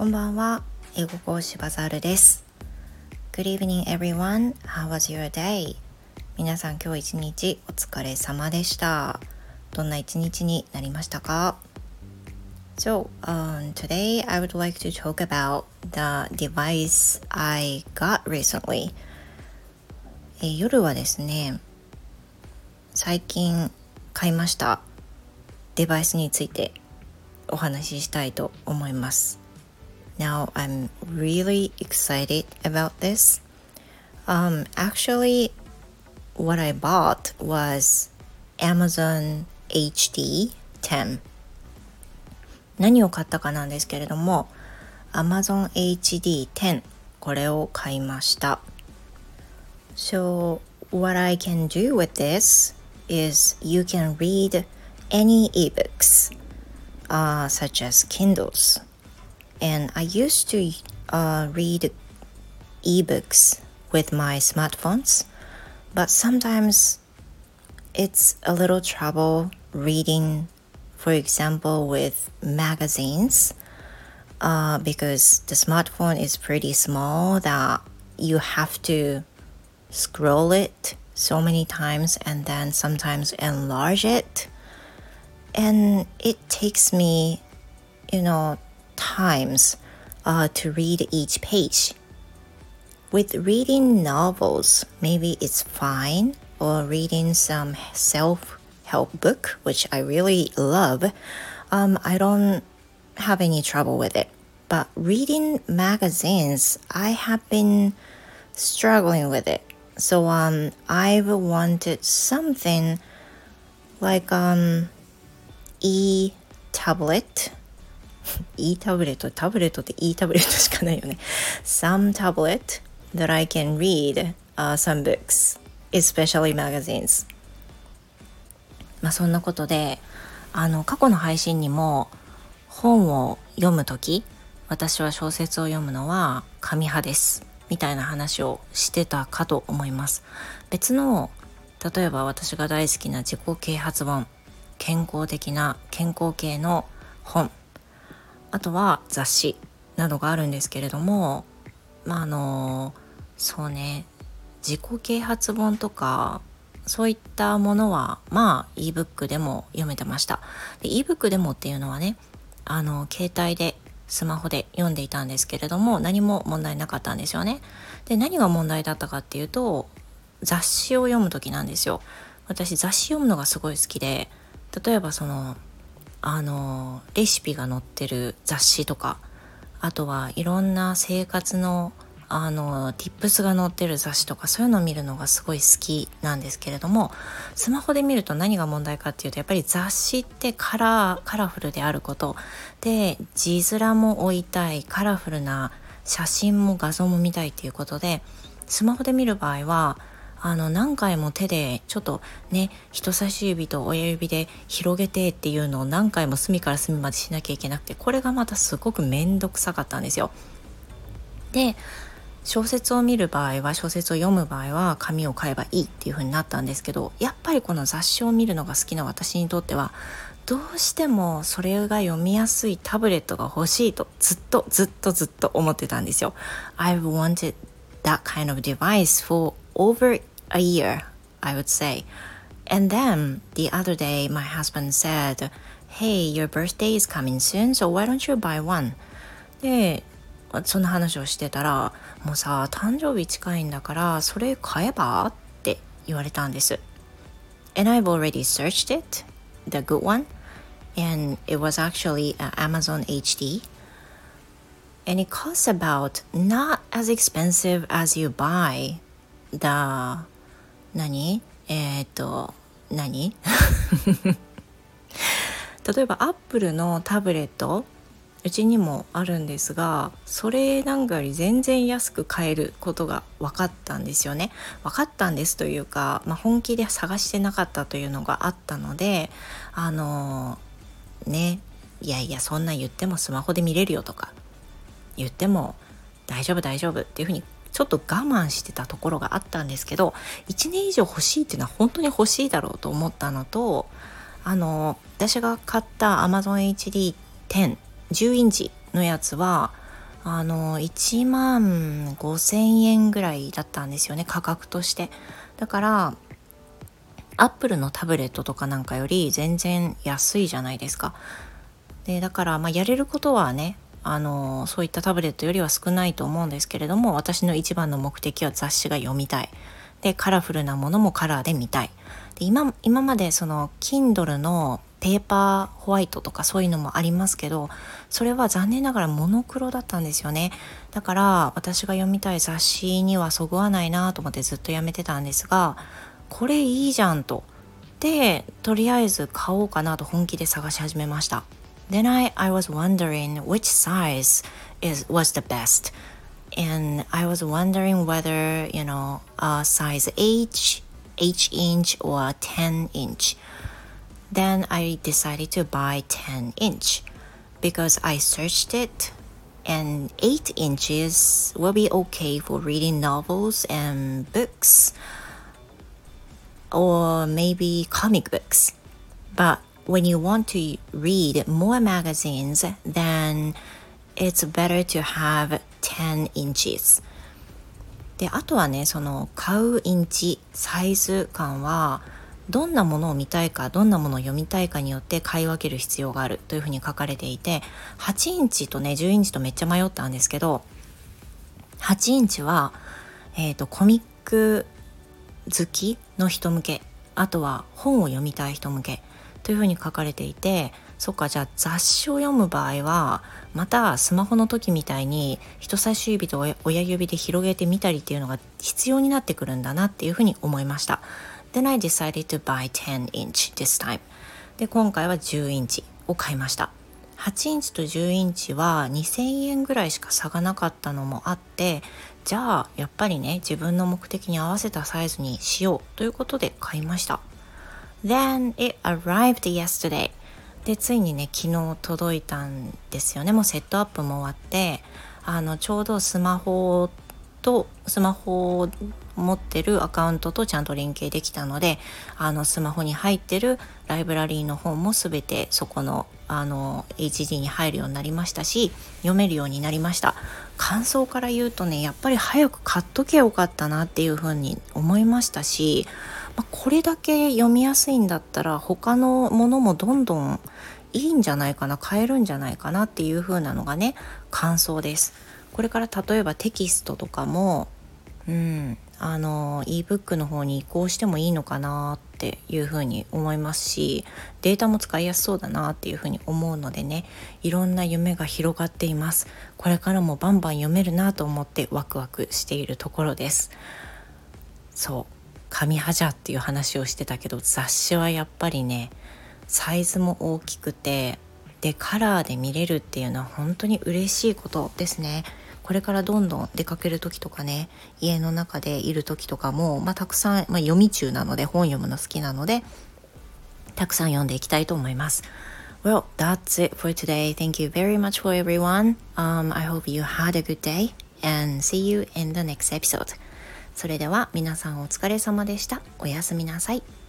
こんばんは、英語講師バザールです。 Good evening everyone, how was your day? 皆さん今日一日お疲れ様でした。どんな一日になりましたか？ Today I would like to talk about the device I got recently. 夜はですね、最近買いましたデバイスについてお話ししたいと思います。Now I'm really excited about this. Actually, what I bought was Amazon HD10. 何を買ったかなんですけれども、Amazon HD10 これを買いました。So what I can do with this is you can read any ebooks, such as Kindles.And I used to read ebooks with my smartphones, but sometimes it's a little trouble reading, for example, with magazines, because the smartphone is pretty small that you have to scroll it so many times and then sometimes enlarge it. And it takes me, times to read each page. With reading novels, maybe it's fine, or reading some self-help book, which I really love. I don't have any trouble with it. But reading magazines, I have been struggling with it. So I've wanted something like e-tablet.e タブレットって e タブレットしかないよね。Some tablet that I can read some books, especially magazines. そんなことで、過去の配信にも本を読むとき、私は小説を読むのは紙派ですみたいな話をしてたかと思います。別の、例えば私が大好きな自己啓発本、健康的な健康系の本、あとは雑誌などがあるんですけれども、そうね、自己啓発本とかそういったものはebook でも読めてました。で ebook でもっていうのはね、携帯でスマホで読んでいたんですけれども、何も問題なかったんですよね。で、何が問題だったかっていうと、雑誌を読む時なんですよ。私雑誌読むのがすごい好きで、例えばレシピが載ってる雑誌とか、あとはいろんな生活のtips が載ってる雑誌とか、そういうのを見るのがすごい好きなんですけれども、スマホで見ると何が問題かっていうと、やっぱり雑誌ってカラフルであることで、字面も置いたい、カラフルな写真も画像も見たいっていうことで、スマホで見る場合は何回も手でちょっとね、人差し指と親指で広げてっていうのを何回も隅から隅までしなきゃいけなくて、これがまたすごくめんどくさかったんですよ。で、小説を読む場合は紙を買えばいいっていう風になったんですけど、やっぱりこの雑誌を見るのが好きな私にとっては、どうしてもそれが読みやすいタブレットが欲しいとずっと思ってたんですよ。I've wanted that kind of device for over a year, I would say. And then the other day my husband said, "Hey, your birthday is coming soon, so why don't you buy one?" で、その話をしてたら、もうさ、誕生日近いんだからそれ買えばって言われたんです。And I've already searched it, the good one, and it was actually Amazon HD, and it costs about not as expensive as you buy the 何例えばアップルのタブレット、うちにもあるんですが、それなんかより全然安く買えることが分かったんですよね。分かったんですというか、本気で探してなかったというのがあったので、いやそんな言ってもスマホで見れるよとか言っても大丈夫っていうふうにちょっと我慢してたところがあったんですけど、1年以上欲しいっていうのは本当に欲しいだろうと思ったのと、私が買った Amazon HD10 10インチのやつは 1万5,000円ぐらいだったんですよね、価格として。だからアップルのタブレットとかなんかより全然安いじゃないですか。でだからやれることはね、そういったタブレットよりは少ないと思うんですけれども、私の一番の目的は雑誌が読みたい。でカラフルなものもカラーで見たい。で今までその Kindle のペーパーホワイトとかそういうのもありますけど、それは残念ながらモノクロだったんですよね。だから私が読みたい雑誌にはそぐわないなと思ってずっとやめてたんですが、これいいじゃんと。でとりあえず買おうかなと本気で探し始めました。Then I was wondering which size was the best. And I was wondering whether, size H inch or 10 inch. Then I decided to buy 10 inch because I searched it and 8 inches will be okay for reading novels and books or maybe comic books. But when you want to read more magazines, then it's better to have 10 inches. であとはね、その買うインチサイズ感はどんなものを見たいかどんなものを読みたいかによって買い分ける必要があるというふうに書かれていて、8インチとね10インチとめっちゃ迷ったんですけど、8インチは、コミック好きの人向け、あとは本を読みたい人向けというふうに書かれていて、そっか、じゃあ雑誌を読む場合はまたスマホの時みたいに人差し指と親指で広げてみたりっていうのが必要になってくるんだなっていうふうに思いました。Then I decided to buy 10 inch this time. で今回は10インチを買いました。8インチと10インチは2000円ぐらいしか差がなかったのもあって、じゃあやっぱりね自分の目的に合わせたサイズにしようということで買いました。Then it arrived yesterday. でついにね昨日届いたんですよね。もうセットアップも終わって、ちょうどスマホを持ってるアカウントとちゃんと連携できたので、スマホに入ってるライブラリーの本もすべてそこのHD に入るようになりましたし、読めるようになりました。感想から言うとね、やっぱり早く買っとけよかったなっていうふうに思いましたし、これだけ読みやすいんだったら他のものもどんどんいいんじゃないかな、買えるんじゃないかなっていう風なのがね感想です。これから例えばテキストとかもebook の方に移行してもいいのかなっていう風に思いますし、データも使いやすそうだなっていう風に思うのでね、いろんな夢が広がっています。これからもバンバン読めるなと思ってワクワクしているところです。そう、紙はじゃっていう話をしてたけど、雑誌はやっぱりねサイズも大きくて、でカラーで見れるっていうのは本当に嬉しいことですね。これからどんどん出かける時とかね、家の中でいる時とかも、たくさん、読み中なので本読むの好きなのでたくさん読んでいきたいと思います。Well, that's it for today. Thank you very much for everyone. I hope you had a good day and see you in the next episode. それでは皆さんお疲れ様でした。おやすみなさい。